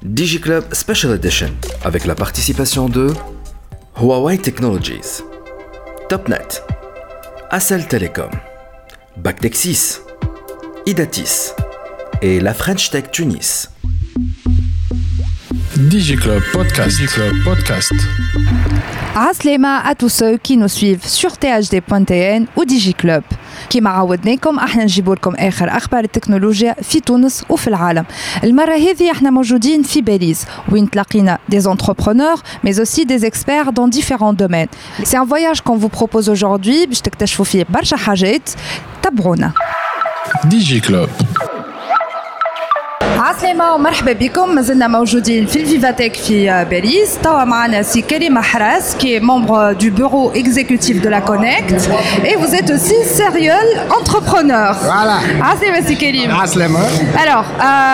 DigiClub Special Edition avec la participation de Huawei Technologies, Topnet, Accel Telecom, Bactexis, Idatis et la French Tech Tunis. DigiClub Podcast. DigiClub Podcast. عسلامة à tous ceux qui nous suivent sur THD.tn ou DigiClub. كما عودناكم احنا نجيبوا لكم اخر اخبار التكنولوجيا في تونس وفي العالم. المره هذه احنا موجودين في باريس وين تلاقينا des entrepreneurs mais aussi des experts dans différents domaines. C'est un voyage qu'on vous propose aujourd'hui باش تكتشفوا فيه برشا حاجات. تابعونا. DigiClub. عسلامة ومرحبا بكم. مازلنا موجودين في الفيفاتيك في باريس. توا معنا سي كريم حراس qui est membre du bureau exécutif de la Connect et vous êtes aussi serial entrepreneur. Voilà. عسلامة سي كريم. عسلامة. Alors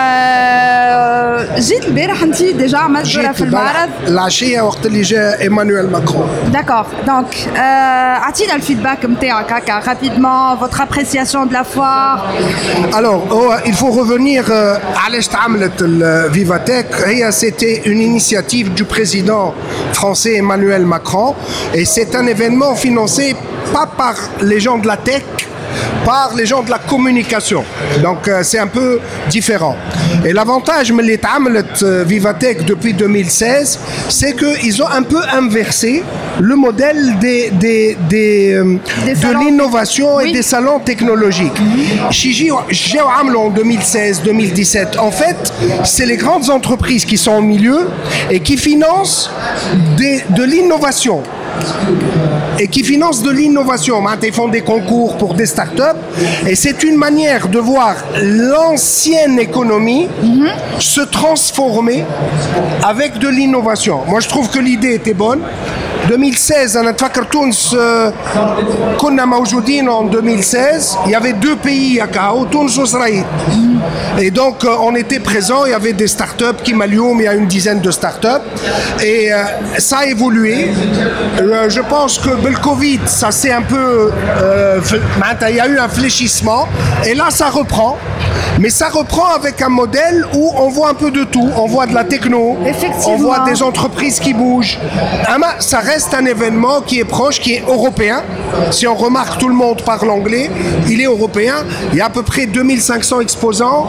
جيت البارح انت ديجا عملت دورة في المعرض. العشية وقت اللي جاء ايمانويل ماكرون. D'accord. Donc اعطينا الفيدباك نتاعك هكا rapidement votre appréciation de la foire. Alors il faut revenir علاش تعملت الفيفاتيك. هي c'était une initiative du président français Emmanuel Macron et c'est un événement financé pas par les gens de la tech, par les gens de la communication. Donc c'est un peu différent. Et l'avantage mais les تعملت Vivatech depuis 2016, c'est qu'ils ont un peu inversé le modèle de l'innovation et des salons technologiques. Chiji en 2016-2017, en fait, c'est les grandes entreprises qui sont au milieu et qui financent de l'innovation. Et qui financent de l'innovation. Ils font des concours pour des startups et c'est une manière de voir l'ancienne économie se transformer avec de l'innovation. Moi, je trouve que l'idée était bonne. 2016, أنا أتفكر تونس كنا موجودين en 2016. Il y avait deux pays à Kao, Tunis et Israël. Et donc on était présents. Il y avait des startups qui Malioum, il y a une dizaine de startups et ça a évolué. Je pense que le Covid, ça c'est un peu, il y a eu un fléchissement et là ça reprend. Mais ça reprend avec un modèle où on voit un peu de tout. On voit de la techno, on voit des entreprises qui bougent. Ça reste un événement qui est proche, qui est européen. Si on remarque, tout le monde parle anglais. Il est européen. Il y a à peu près 2500 exposants,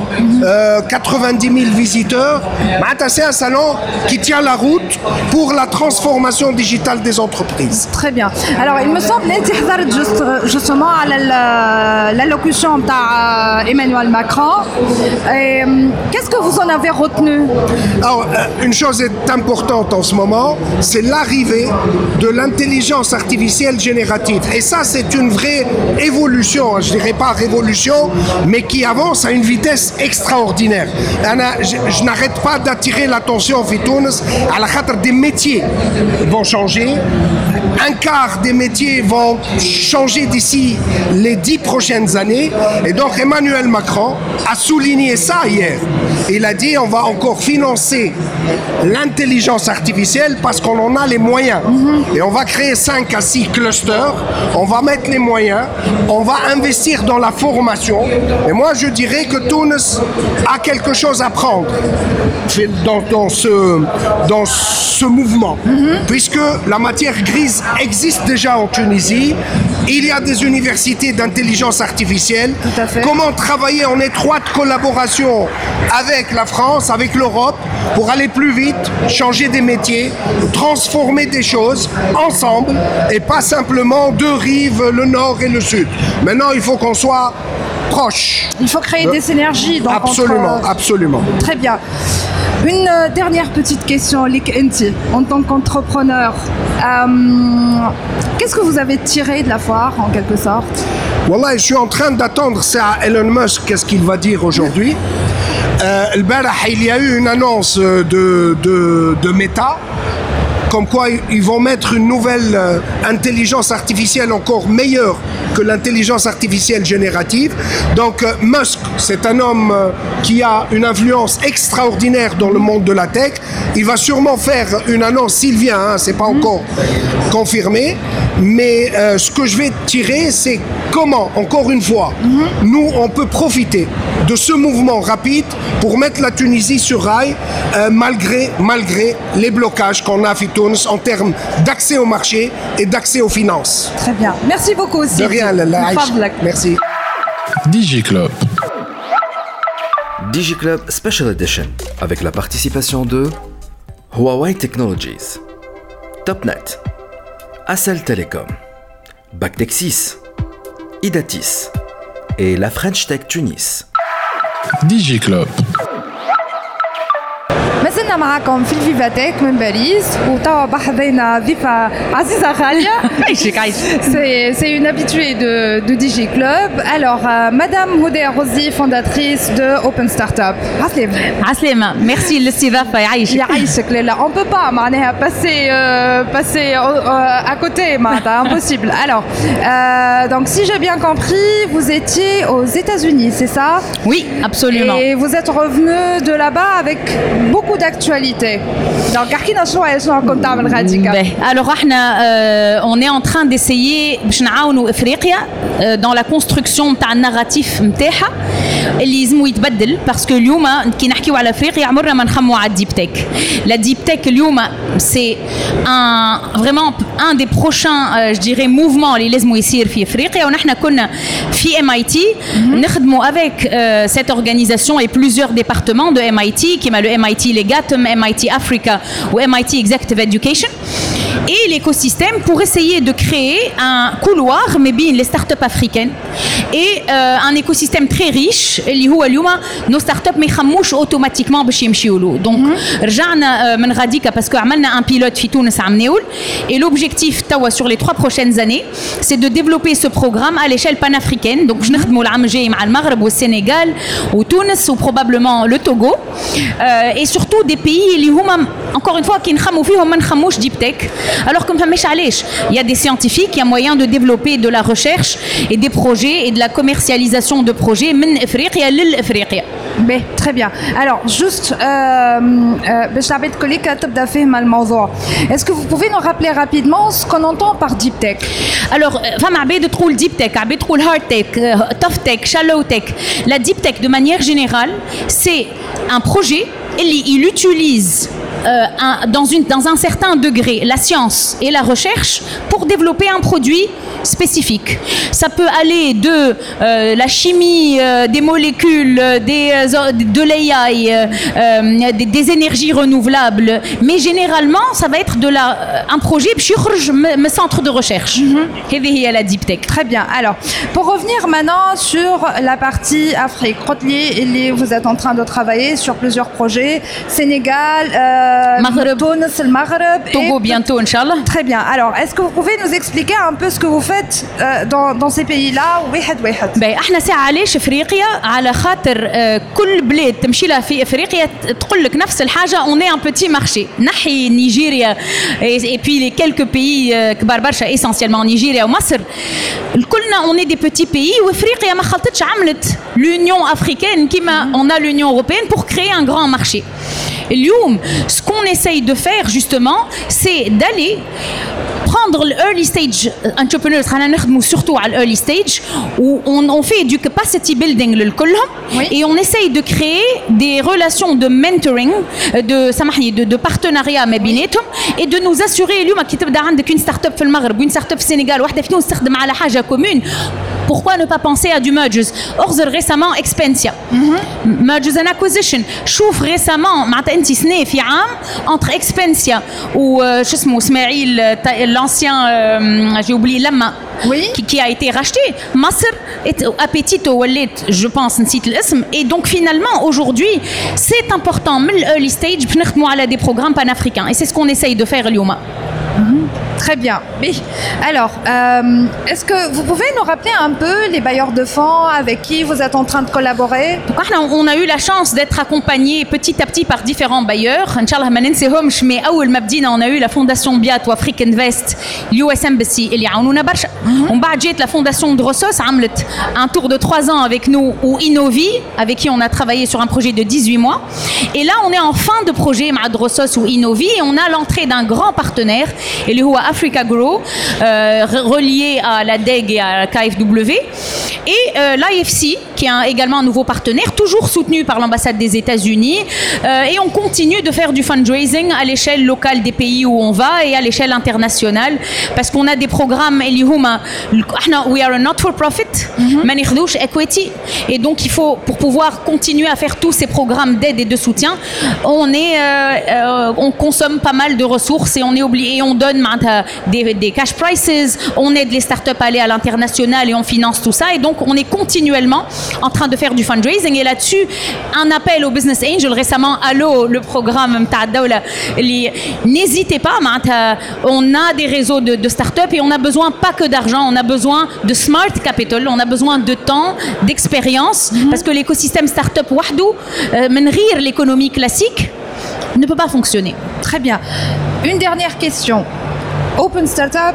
90 000 visiteurs. C'est un salon qui tient la route pour la transformation digitale des entreprises. Très bien. Alors, il me semble que justement à l'allocution d'Emmanuel Macron. Et, qu'est-ce que vous en avez retenu? Alors, une chose est importante en ce moment, c'est l'arrivée de l'intelligence artificielle générative. Et ça, c'est une vraie évolution, je dirais pas révolution, mais qui avance à une vitesse extraordinaire. Je n'arrête pas d'attirer l'attention en Tunis à la khatra des métiers vont changer. Un quart des métiers vont changer d'ici les 10 prochaines années. Et donc Emmanuel Macron a souligné ça hier. Il a dit on va encore financer l'intelligence artificielle parce qu'on en a les moyens. Et on va créer 5 à 6 clusters, on va mettre les moyens, on va investir dans la formation. Et moi je dirais que Tunis a quelque chose à prendre dans ce mouvement. Puisque la matière grise existe déjà en Tunisie, il y a des universités d'intelligence artificielle. Comment travailler en étroite collaboration avec la France, avec l'Europe, pour aller plus vite, changer des métiers, transformer des choses ensemble et pas simplement deux rives, le nord et le sud. Maintenant, il faut qu'on soit proche. Il faut créer des synergies. Donc, absolument, absolument. Très bien. Une dernière petite question, Lik Enti, en tant qu'entrepreneur, qu'est-ce que vous avez tiré de la foire en quelque sorte? Wallah, je suis en train d'attendre ça à Elon Musk, qu'est-ce qu'il va dire aujourd'hui. Il y a eu une annonce de Meta, comme quoi ils vont mettre une nouvelle intelligence artificielle encore meilleure que l'intelligence artificielle générative. Donc Musk, c'est un homme qui a une influence extraordinaire dans le monde de la tech. Il va sûrement faire une annonce s'il vient, c'est pas encore confirmé. Mais ce que je vais tirer, c'est comment, encore une fois, nous, on peut profiter de ce mouvement rapide pour mettre la Tunisie sur rail, malgré les blocages qu'on a à Tunis en termes d'accès au marché et d'accès aux finances. Très bien. Merci beaucoup aussi. De rien, merci. DigiClub. DigiClub Special Edition avec la participation de Huawei Technologies, Topnet, Accel Telecom, Bactexis, Idatis et la French Tech Tunis. DigiClub. ما زلنا معكم في الفيفاتيك من باريس وتوا بحذينا ضيفة عزيزة غالية. C'est une habituée de DigiClub. Alors, Madame Houdé Rosi, fondatrice de Open Startup. عسلامة. Merci للاستضافة يعيشك. يعيشك لا. On peut pas معناها passer à côté, معناتها impossible. Alors, donc si j'ai bien compris, vous étiez aux États-Unis, c'est ça? Oui, absolument. Et vous êtes revenu de là-bas avec beaucoup d'actualité. Donc, alors, on est en train d'essayer باش نعاونوا افريقيا dans la construction تاع الناراتيف نتاعها اللي لازم يتبدل باسكو اليوم كي نحكيو على افريقيا عمرنا ما نخموا على الديب تك. لا ديب تك اليوم سي vraiment un des prochains je dirais mouvements اللي لازم يصير في افريقيا ونحن كنا في MIT نخدموا avec cette organisation et plusieurs départements de MIT كيما le MIT Legatum, MIT Africa ou MIT Executive Education et l'écosystème pour essayer de créer un couloir mais bien les startups africaines et un écosystème très riche اللي هو اليوم nos startups ما يخموش automatiquement باش يمشيوا له. Donc رجعنا من غاديكا باسكو عملنا un pilote في تونس عام ناول et l'objectif توا sur les 3 prochaines années c'est de développer ce programme à l'échelle panafricaine. Donc باش نخدموا العام الجاي مع المغرب والسنغال وتونس وprobablement le Togo et surtout des pays اللي هما encore une fois كي نخموا فيهم ما نخموش ديب تك alors que ما فهمش علاش. Il y a des scientifiques, il y a moyen de développer de la recherche et des projets et de la commercialisation de projets من افريقيا للافريقيا. Ben, très bien. Alors, juste, باش العباد كليك تبدا فهم الموضوع. Est-ce que vous pouvez nous rappeler rapidement ce qu'on entend par deep tech? Alors, فما عباد تقول deep tech, عباد تقول hard tech, tough tech, shallow tech. La deep tech, de manière générale, c'est un projet il utilise dans un certain degré la science et la recherche pour développer un produit spécifique. Ça peut aller de la chimie, des molécules, de l'AI, des énergies renouvelables, mais généralement ça va être un projet باش يخرج من centre de recherche. هذه هي la deep tech. Très bien. Alors, pour revenir maintenant sur la partie Afrique, vous êtes en train de travailler sur plusieurs projets, Sénégal, Maghreb, Tunis, le Maghreb, Togo bientôt, Inch'Allah. Très bien. Alors, est-ce que vous pouvez nous expliquer un peu ce que vous faites dans ces pays-là? Ben, احنا ساعة علاش افريقيا على خاطر كل بلاد تمشي لها في افريقيا تقول لك نفس الحاجة. on est un petit marché. نحي نيجيريا et puis les quelques pays كبار برشا essentiellement نيجيريا ومصر كلنا on est des petits pays وافريقيا ما خلطتش عملت l'Union africaine كيما on a l'Union européenne pour créer un grand marché. اليوم ce qu'on essaye de faire justement c'est d'aller prendre l'early stage entrepreneurs خلينا نخدموا surtout على early stage où on fait du capacity building للكلهم et on essaye de créer des relations de mentoring de partenariat ما بيناتهم et de nous assurer اليوم كي تبدا عندك une start-up في المغرب وين start-up في السنغال واحدة في تونس تخدم على حاجة commune. Pourquoi ne pas penser à du mergers? Orzer récemment Expensia, mergers and acquisition. شوف récemment معناتها انت سنة في عام entre Expensia ou شو اسمه اسماعيل l'ancien j'ai oublié Lama qui a été racheté. Masr et Appetito ولات je pense نسيت الاسم et donc finalement aujourd'hui c'est important من early stage باش نخدموا على des programmes panafricains et c'est ce qu'on essaye de faire اليوم. Très bien. Mais, alors, est-ce que vous pouvez nous rappeler un peu les bailleurs de fonds avec qui vous êtes en train de collaborer? On a eu la chance d'être accompagnés petit à petit par différents bailleurs. Inch'Allah ما ننساهمش mais أول ما بدينا on a eu la fondation Biat ou Afrique Invest, l'US Embassy اللي عاونونا برشا. ومن بعد جات la fondation Drossos عملت un tour de 3 ans avec nous ou Innovi avec qui on a travaillé sur un projet de 18 mois. Et là on est en fin de projet مع Drossos ou Innovi et on a l'entrée d'un grand partenaire اللي هو Africa Grow, relié à la DEG et à la KfW, et l'IFC qui est également un nouveau partenaire, toujours soutenu par l'ambassade des États-Unis. Et on continue de faire du fundraising à l'échelle locale des pays où on va et à l'échelle internationale, parce qu'on a des programmes we are a not-for-profit, ما ناخذوش equity, et donc il faut, pour pouvoir continuer à faire tous ces programmes d'aide et de soutien, on consomme pas mal de ressources et on est obligé, et on donne des cash prices, on aide les startups à aller à l'international et on finance tout ça, et donc on est continuellement en train de faire du fundraising. Et là-dessus, un appel aux business angels récemment, Allo, le programme متاع الدولة, n'hésitez pas, on a des réseaux de startups et on a besoin pas que d'argent, on a besoin de smart capital, on a besoin de temps, d'expérience, parce que l'écosystème startup وحده من غير l'économie classique ne peut pas fonctionner. Très bien. Une dernière question. Open Startup,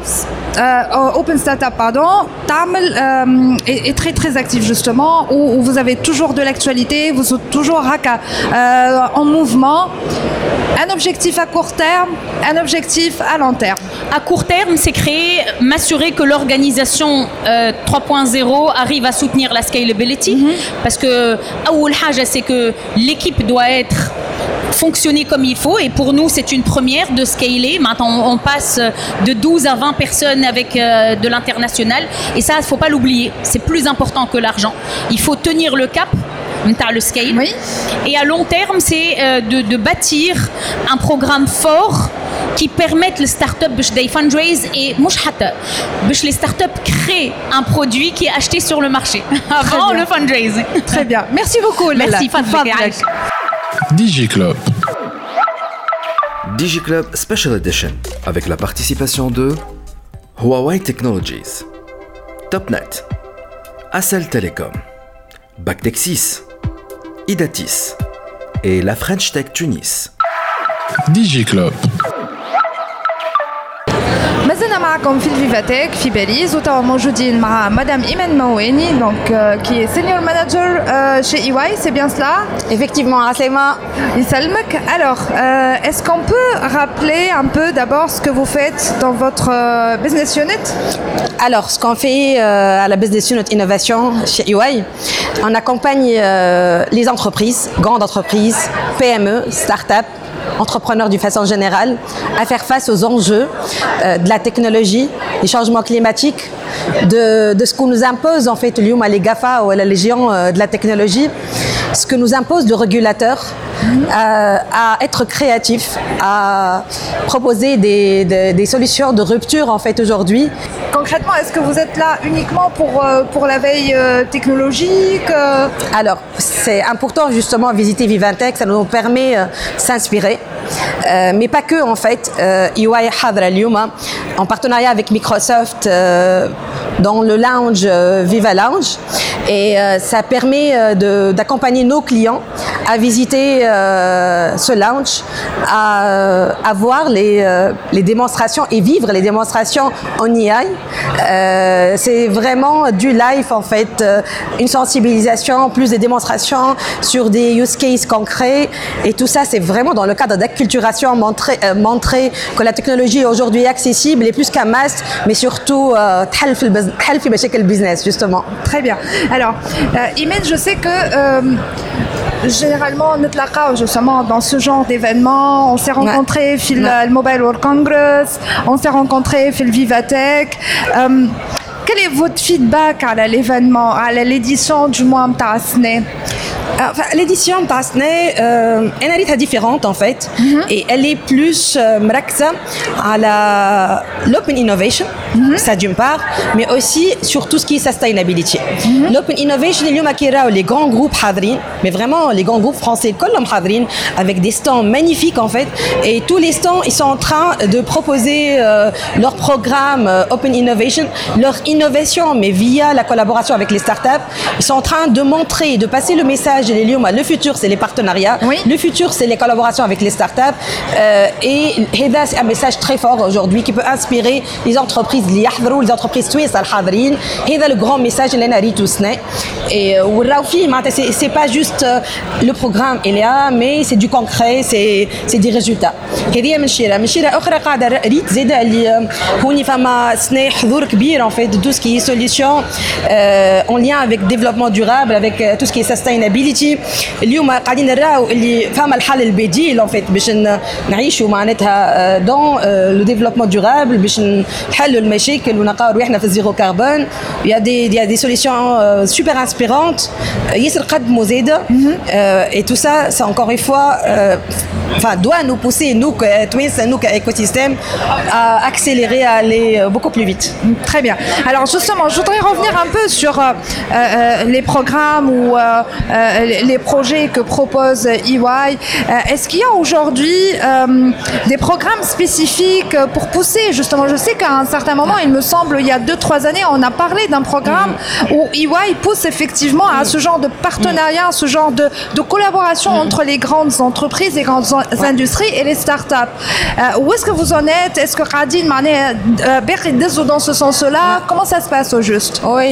est très très actif justement, où vous avez toujours de l'actualité, vous êtes toujours en mouvement. Un objectif à court terme, un objectif à long terme. À court terme, c'est m'assurer que l'organisation 3.0 arrive à soutenir la scalability, parce que أول حاجة, c'est que l'équipe doit fonctionner comme il faut, et pour nous c'est une première de scaler. Maintenant on passe de 12 à 20 personnes avec de l'international, et ça il ne faut pas l'oublier, c'est plus important que l'argent. Il faut tenir le cap, le scale. Oui. Et à long terme, c'est de bâtir un programme fort qui permette les startups de fundraise, et les startups créent un produit qui est acheté sur le marché avant le fundraising. Très bien. Merci beaucoup. Merci. DigiClub. DigiClub Special Edition avec la participation de Huawei Technologies, Topnet, Accel Telecom, Bactexis, Idatis et la French Tech Tunis. DigiClub. مازلنا معكم في الفيفاتيك في باريس، وتوا موجودين مع مدام إيمان مواني qui est senior manager chez EY, c'est bien cela? Effectivement, Aslema. يسلمك. Alors, est-ce qu'on peut rappeler un peu d'abord ce que vous faites dans votre business unit? Alors, ce qu'on fait à la business unit innovation chez EY, on accompagne les entreprises, grandes entreprises, PME, start-up, entrepreneurs d'une façon générale, à faire face aux enjeux de la technologie, des changements climatiques, de ce qu'on nous impose en fait, les GAFA ou la Légion de la technologie, ce que nous impose le régulateur, à être créatif, à proposer des solutions de rupture en fait aujourd'hui. Concrètement, est-ce que vous êtes là uniquement pour la veille technologique? Alors, c'est important justement visiter Vivantech, ça nous permet de s'inspirer. Mais pas que en fait. EY Hadra Lyouma, en partenariat avec Microsoft dans le lounge Viva Lounge, et ça permet d'accompagner nos clients à visiter ce lounge, à voir les démonstrations et vivre les démonstrations en EY. C'est vraiment du live en fait, une sensibilisation, plus des démonstrations sur des use cases concrets, et tout ça c'est vraiment dans le cadre d'acculturation, montrer que la technologie aujourd'hui est accessible et plus qu'un must, mais surtout تحل في مشاكل business justement. Très bien. Alors, Imen, je sais que généralement, justement dans ce genre d'événement, on s'est rencontrés dans le Mobile World Congress, on s'est rencontrés dans le Vivatech. Quel est votre feedback à l'événement, à l'édition du mois de l'édition de Tasné, elle est différente en fait, et elle est plus mrakza à l'open innovation, ça d'une part, mais aussi sur tout ce qui est sustainability. L'open innovation, les grands groupes hadrin, mais vraiment les grands groupes français, comme hadrin, avec des stands magnifiques en fait, et tous les stands ils sont en train de proposer leur programme open innovation, leur innovation, mais via la collaboration avec les startups, ils sont en train de montrer, de passer le message message, le futur, c'est les partenariats. Oui. Le futur, c'est les collaborations avec les startups. Et c'est un message très fort aujourd'hui qui peut inspirer les entreprises, les entreprises suisses, c'est le grand message que nous tous. Et c'est pas juste le programme, mais c'est du concret, c'est des résultats. هذه من شيرة أخرى قاعدة ريت زادة اللي هوني فما سنة حضور كبير en fait de tout ce qui est solution en lien avec développement durable, avec tout ce qui est sustainability. اليوم قاعدين نراو اللي فما الحل البديل en fait باش نعيشوا معناتها dans le développement durable باش نحلوا المشاكل ونلقاو رواحنا في الزيرو كربون. Il y a des solutions super inspirantes. ياسر قدموا زادة et tout ça c'est encore une fois doit nous pousser, nous, Twins, nous, écosystème, à accélérer, à aller beaucoup plus vite. Très bien. Alors justement, je voudrais revenir un peu sur les programmes ou les projets que propose EY. Est-ce qu'il y a aujourd'hui des programmes spécifiques pour pousser, justement, je sais qu'à un certain moment, il me semble, il y a 2-3 années, on a parlé d'un programme où EY pousse effectivement à ce genre de partenariat, ce genre de collaboration entre les grandes entreprises, les grandes industries et les startups. Où est-ce que vous en êtes? Est-ce que Radine dans ce sens-là? Comment ça se passe au juste? Oui,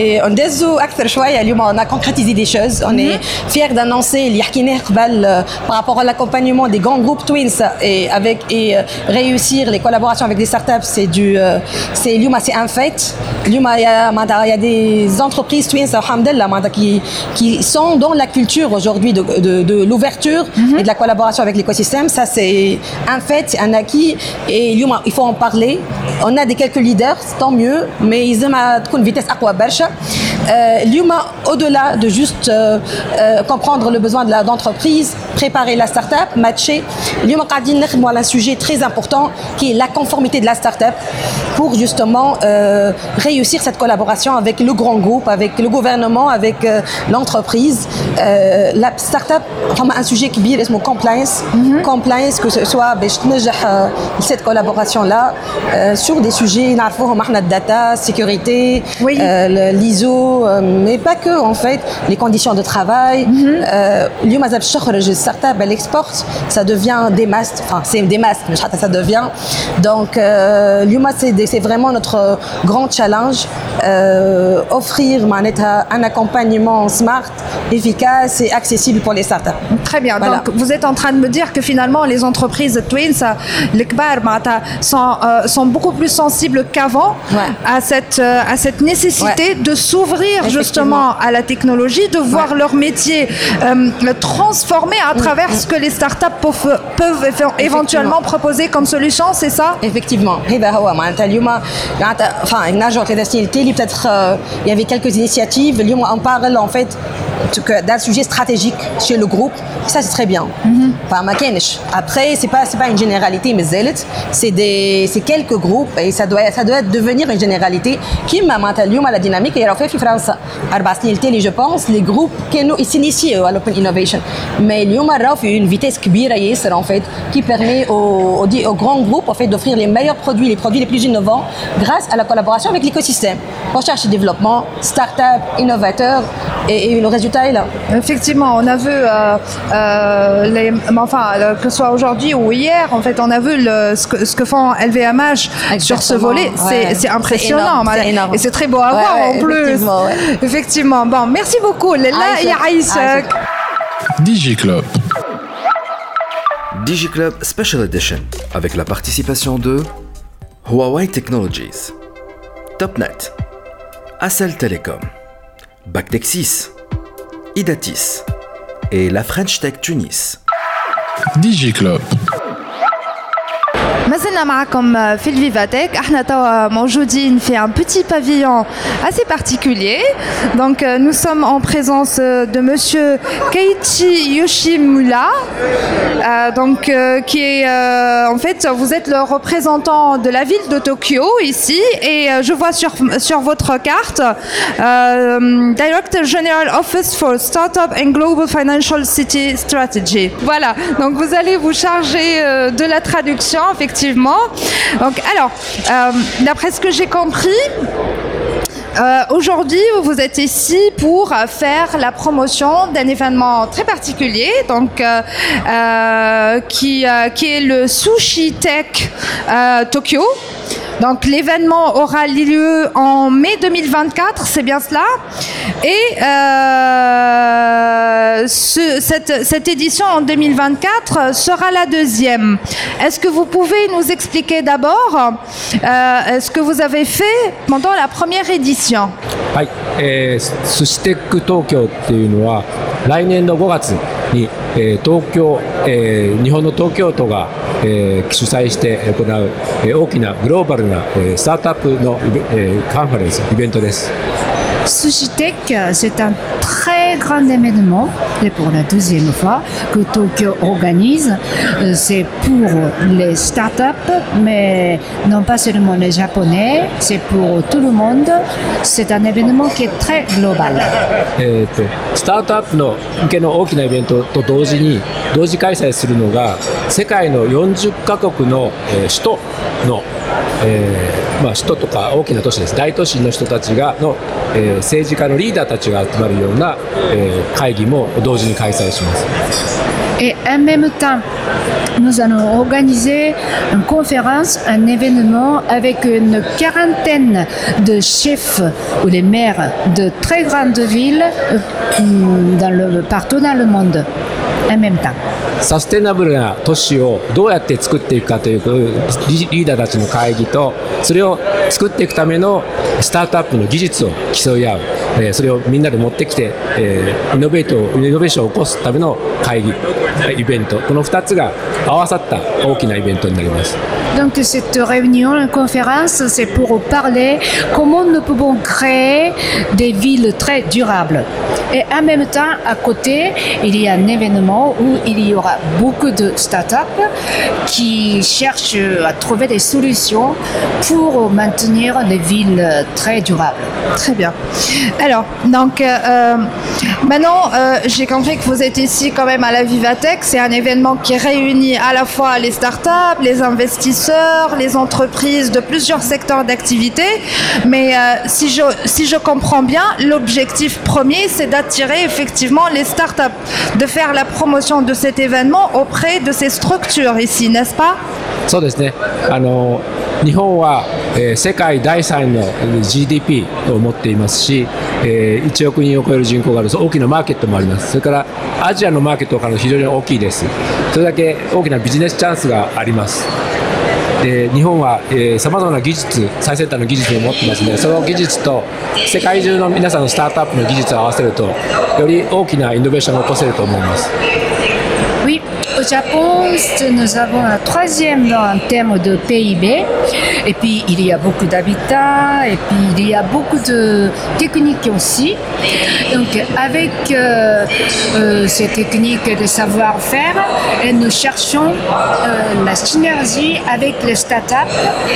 on a concrétisé des choses. On est fiers d'annoncer par rapport à l'accompagnement des grands groupes Twins et réussir les collaborations avec des startups. C'est un fait. Il y a des entreprises Twins qui sont dans la culture aujourd'hui de l'ouverture et de la collaboration avec l'écosystème. Ça, c'est un fait, c'est un acquis. Et il faut en parler. On a quelques leaders, tant mieux, mais ils aiment une vitesse à quoi bercha. Au-delà de juste comprendre le besoin de l'entreprise, préparer la start-up, matcher, on a un sujet très important qui est la conformité de la start-up pour justement réussir cette collaboration avec le grand groupe, avec le gouvernement, avec l'entreprise. La start-up a un sujet qui est compliance. Compliance, que ce soit cette collaboration-là sur des sujets, data, sécurité, l'ISO, mais pas que en fait, les conditions de travail. Startup, elle exporte, ça devient des masques, enfin c'est des masques, mais ça devient. Donc, c'est vraiment notre grand challenge, offrir un accompagnement smart, efficace et accessible pour les startups. Très bien. Voilà. Donc, vous êtes en train de me dire que finalement, les entreprises Twins, les Kbar, sont beaucoup plus sensibles qu'avant à cette nécessité de s'ouvrir justement à la technologie, de voir leur métier transformé à travers ce que les startups peuvent éventuellement proposer comme solution, c'est ça? Effectivement. Peut-être il y avait quelques initiatives. On parle en fait d'un sujet stratégique chez le groupe. Ça, c'est très bien. Après, c'est pas une généralité, mais c'est quelques groupes et ça doit devenir une généralité. Qui m'a maintenu la dynamique et elle a fait France. Je pense les groupes qui s'initient à l'open innovation. Mais il y a une vitesse en fait qui permet aux grands groupes en fait d'offrir les meilleurs produits, les produits les plus innovants grâce à la collaboration avec l'écosystème. Recherche et développement, start-up, innovateurs et le résultat est là. Effectivement, on a vu que ce soit aujourd'hui ou hier, en fait, on a vu ce que font LVMH sur ce volet. C'est impressionnant. C'est énorme. Et c'est très beau à voir en plus. Effectivement. Bon, merci beaucoup. Léla et Aïsek. DigiClub. DigiClub Special Edition avec la participation de Huawei Technologies, Topnet, Accel Telecom, Bactexis, Idatis et la French Tech Tunis. DigiClub. ما زلنا معكم في الفيفاتيك. احنا توا موجودين في un petit pavillon assez particulier. Donc nous sommes en présence de monsieur Keiichi Yoshimura, qui est en fait vous êtes le représentant de la ville de Tokyo ici et je vois sur votre carte Director General Office for Startup and Global Financial City Strategy. Voilà, donc vous allez vous charger de la traduction effectivement. Donc alors, d'après ce que j'ai compris, Aujourd'hui, vous êtes ici pour faire la promotion d'un événement très particulier, donc qui est le Sushi Tech Tokyo. Donc l'événement aura lieu en mai 2024, c'est bien cela. Et cette édition en 2024 sera la deuxième. Est-ce que vous pouvez nous expliquer d'abord ce que vous avez fait pendant la première édition? はい、寿司テック東京っていうのは来年の5月に、東京、日本の東京都が、主催して行う、大きなグローバルな、スタートアップの、カンファレンスイベントです。 Sushi Tech, c'est un très grand événement, et pour la deuxième fois, que Tokyo organise. C'est pour les startups, mais non pas seulement les Japonais, c'est pour tout le monde. C'est un événement qui est très global. スタートアップの向けの大きなイベントと同時に同時開催するのが世界の40カ国の、首都の、首都とか大きな都市です。大都市の人たちがの、政治家のリーダーたちが集まるような、会議も同時に開催します。 Et en même temps, nous allons organiser une conférence, un événement avec une quarantaine de chefs ou les maires de très grandes villes partout dans le monde en même temps. サステナブルな都市をどうやって作っていくかというリーダーたちの会議と、それを作っていくためのスタートアップの技術を競い合う、それをみんなで持ってきて、イノベーションを起こすための会議イベント、この2つが合わさった大きなイベントになります。 Donc cette réunion, une conférence, c'est pour parler comment nous pouvons créer des villes très durables. Et en même temps, à côté, il y a un événement où il y aura beaucoup de startups qui cherchent à trouver des solutions pour maintenir des villes très durables. Très bien. Alors, donc, maintenant, j'ai compris que vous êtes ici quand même à la Vivatech. C'est un événement qui réunit à la fois les startups, les investisseurs, les entreprises de plusieurs secteurs d'activité. Mais si je comprends bien, l'objectif premier, c'est d'attirer effectivement les startups, de faire la promotion de cet événement auprès de ces structures ici, n'est-ce pas? そうですね。日本は、世界第3位の GDP を持っていますし、1億人を超える人口がある大きなマーケットもあります。それからアジアのマーケットから非常に大きいです。それだけ大きなビジネスチャンスがあります。で日本はさまざまな技術、最先端の技術を持ってますので、その技術と世界中の皆さんのスタートアップの技術を合わせるとより大きなイノベーションを起こせると思います。 Oui, au Japon, nous avons un troisième en termes de PIB. Et puis, il y a beaucoup d'habitats. Et puis, il y a beaucoup de techniques aussi. Donc, avec ces techniques de savoir-faire, nous cherchons la synergie avec les startups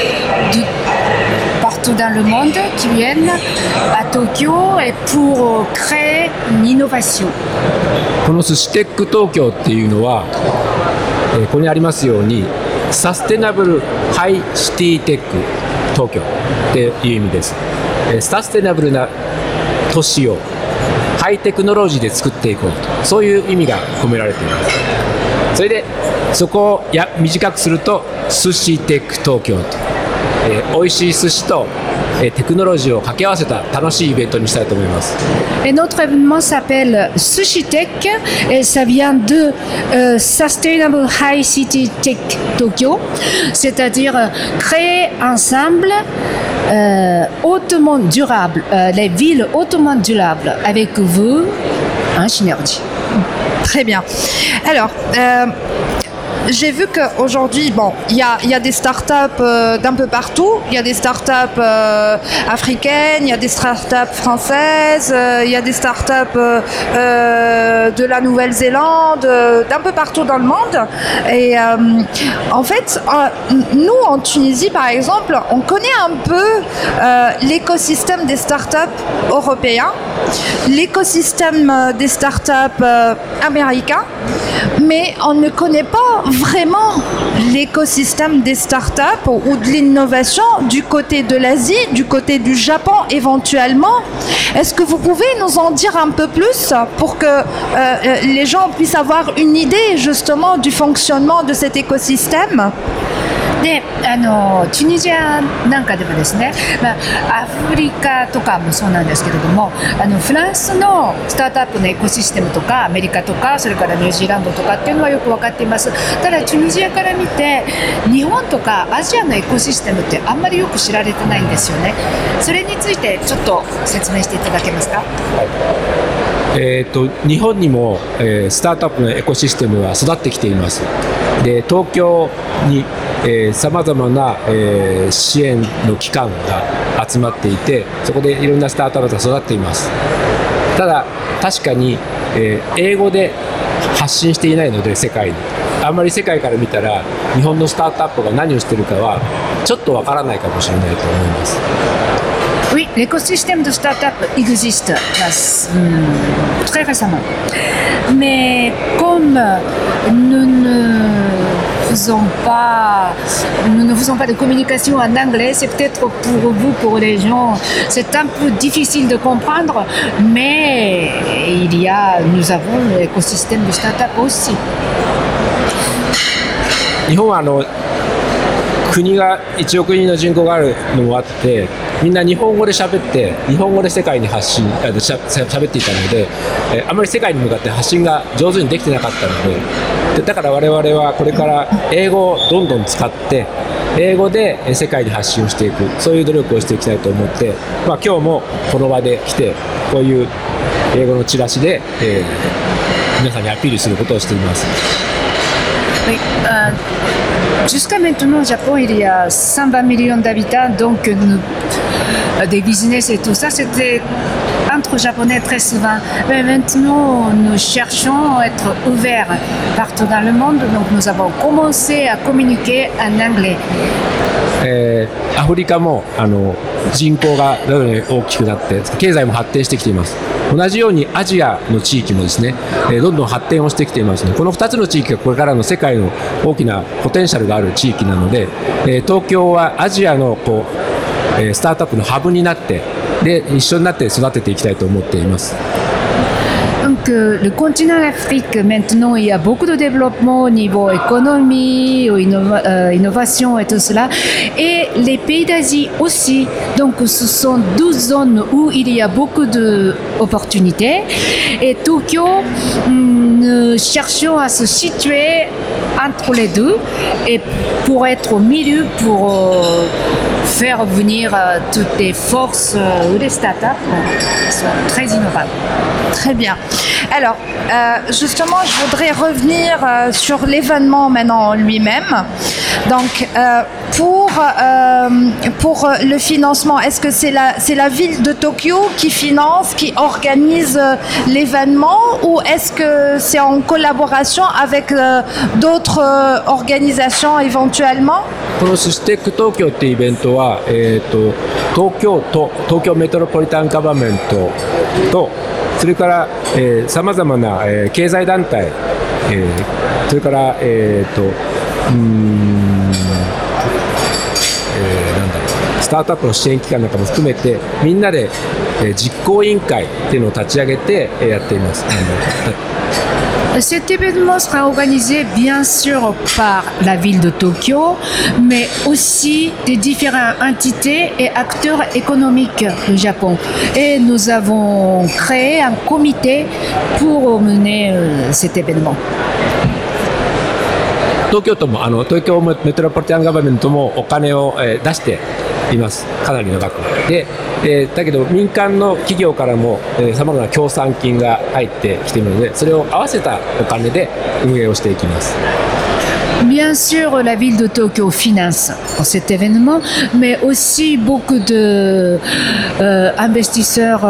partout dans le monde qui viennent à Tokyo et pour créer une innovation. この寿司テック東京っていうのは、ここにありますようにサステナブルハイシティテック東京っていう意味です。サステナブルな都市をハイテクノロジーで作っていこうと、そういう意味が込められています。それでそこを短くすると寿司テック東京と、美味しい寿司とテクノロジーを掛け合わせた楽しいイベントにしたいと思います。 Et notre événement s'appelle Sushi Tech et ça vient de Sustainable High City Tech Tokyo, c'est-à-dire créer ensemble hautement durable, les villes hautement durables avec vous en synergie. Très bien. Alors, j'ai vu qu'aujourd'hui, bon, il y a des startups d'un peu partout. Il y a des startups africaines, il y a des startups françaises, il y a des startups de la Nouvelle-Zélande, d'un peu partout dans le monde. Et en fait, nous en Tunisie, par exemple, on connaît un peu l'écosystème des startups européens, l'écosystème des startups américains, mais on ne connaît pas vraiment l'écosystème des startups ou de l'innovation du côté de l'Asie, du côté du Japon éventuellement. Est-ce que vous pouvez nous en dire un peu plus pour que les gens puissent avoir une idée justement du fonctionnement de cet écosystème? でチュニジアなんかでもですね、アフリカとかもそうなんですけれどもフランスのスタートアップのエコシステムとかアメリカとかそれからニュージーランドとかっていうのはよく分かっています。ただチュニジアから見て日本とかアジアのエコシステムってあんまりよく知られてないんですよね。それについてちょっと説明していただけますか？ 日本にも、スタートアップのエコシステムは育ってきています。で東京にさまざまな、支援の機関が集まっていてそこでいろんなスタートアップが育っています。ただ確かに、英語で発信していないので世界にあんまり世界から見たら日本のスタートアップが何をしているかはちょっとわからないかもしれないと思います。 Oui, l'écosystème de start-up existe très récemment. Mais comme nous ne faisons pas de communication en anglais, c'est peut-être pour vous, pour les gens, c'est un peu difficile de comprendre, mais nous avons l'écosystème de start-up aussi. 日本は国が1億人の人口があるのもあってみんな日本語で喋って日本語で世界に喋っていたのであまり世界に向かって発信が上手にできてなかったのでだから我々はこれから英語をどんどん使って英語で世界に発信をしていくそういう努力をしていきたいと思って、今日もこの場で来てこういう英語のチラシで、皆さんにアピールすることをしています。 Jusqu'à maintenant, au Japon, il y a 120 millions d'habitants, donc des business et tout ça, c'était entre Japonais très souvent. Mais maintenant, nous cherchons à être ouverts partout dans le monde, donc nous avons commencé à communiquer en anglais. アフリカも人口が徐々に大きくなって経済も発展してきています。同じようにアジアの地域もですね、どんどん発展をしてきていますのでこの2つの地域がこれからの世界の大きなポテンシャルがある地域なので、東京はアジアのスタートアップのハブになってで一緒になって育てていきたいと思っています。 Donc le continent Afrique, maintenant, il y a beaucoup de développement au niveau économie, innovation et tout cela. Et les pays d'Asie aussi. Donc ce sont 12 zones où il y a beaucoup d'opportunités. Et Tokyo, nous cherchons à se situer entre les deux et pour être au milieu, pour faire venir toutes les forces ou les startups qui sont très innovantes. Très bien. Alors, justement, je voudrais revenir sur l'événement maintenant en lui-même. Donc, pour le financement, est-ce que c'est la ville de Tokyo qui finance, qui organise l'événement ou est-ce que c'est en collaboration avec d'autres organisations éventuellement? このステック東京っていうイベントは、東京都東京メトロポリタンガバメントとそれからさまざまな、経済団体、それからスタートアップの支援機関なんかも含めてみんなで、実行委員会っていうのを立ち上げて、やっています。 Cet événement sera organisé bien sûr par la ville de Tokyo, mais aussi des différentes entités et acteurs économiques du Japon. Et nous avons créé un comité pour mener cet événement. 東京都も東京メトロポリタンガバメントもお金を、出しています。かなりの額で、だけど民間の企業からもさまざまな協賛金が入ってきているのでそれを合わせたお金で運営をしていきます。 Bien sûr, la ville de Tokyo finance cet événement, mais aussi beaucoup d'investisseurs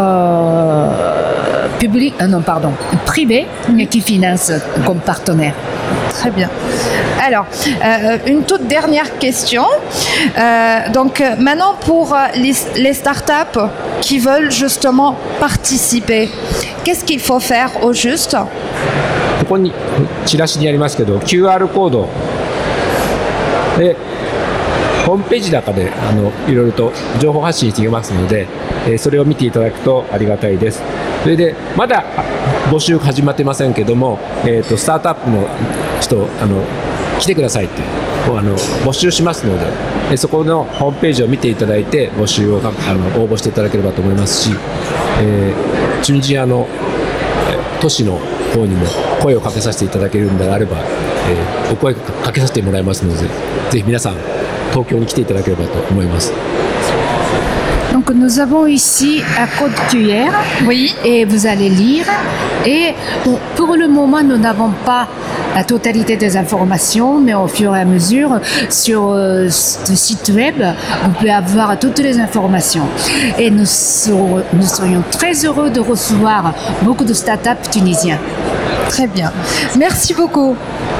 privés qui financent comme partenaires. Très bien. Alors, une toute dernière question. Donc, maintenant, pour les startups qui veulent justement participer, qu'est-ce qu'il faut faire au juste? こにチラシにありますけど QR コードでホームページの中でいろいろと情報発信していますので、それを見ていただくとありがたいです。それでまだ募集始まってませんけども、スタートアップの人来てくださいって募集しますので、そこのホームページを見ていただいて募集を応募していただければと思いますし、チュニジアの都市の方にも声をかけさせていただけるのであれば、お声かけさせてもらいますので、ぜひ皆さん東京に来ていただければと思います。 Donc nous avons ici un code QR, Oui. et vous allez lire. Et bon, pour le moment, nous n'avons pas la totalité des informations, mais au fur et à mesure, sur le site web, vous pouvez avoir toutes les informations. Et nous serions très heureux de recevoir beaucoup de startups tunisiens. Très bien. Merci beaucoup.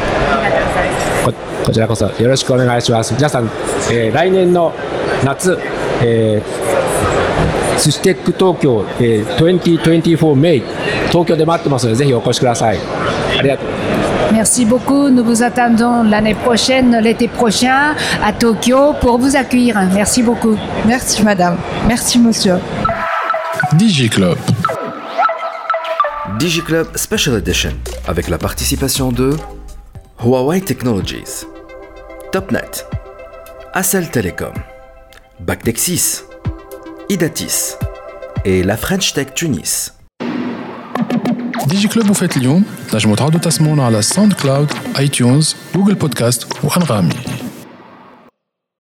こちらこそよろしくお願いします。皆さん、来年の夏、スシテック東京、2024 May 東京で待ってますので、ぜひお越しください。ありがとう。 Merci beaucoup. Nous vous attendons l'année prochaine, l'été prochain, à Tokyo pour vous accueillir. Merci beaucoup. Merci madame. Merci monsieur. DigiClub. DigiClub Special Edition avec la participation de Huawei Technologies, Topnet, Accel Telecom, Bactexis, Idatis et la French Tech Tunis. DigiClub وفات اليوم نجموا تعودوا تسمعونا على ساوند كلاود، ايتونز، جوجل بودكاست وأنغامي.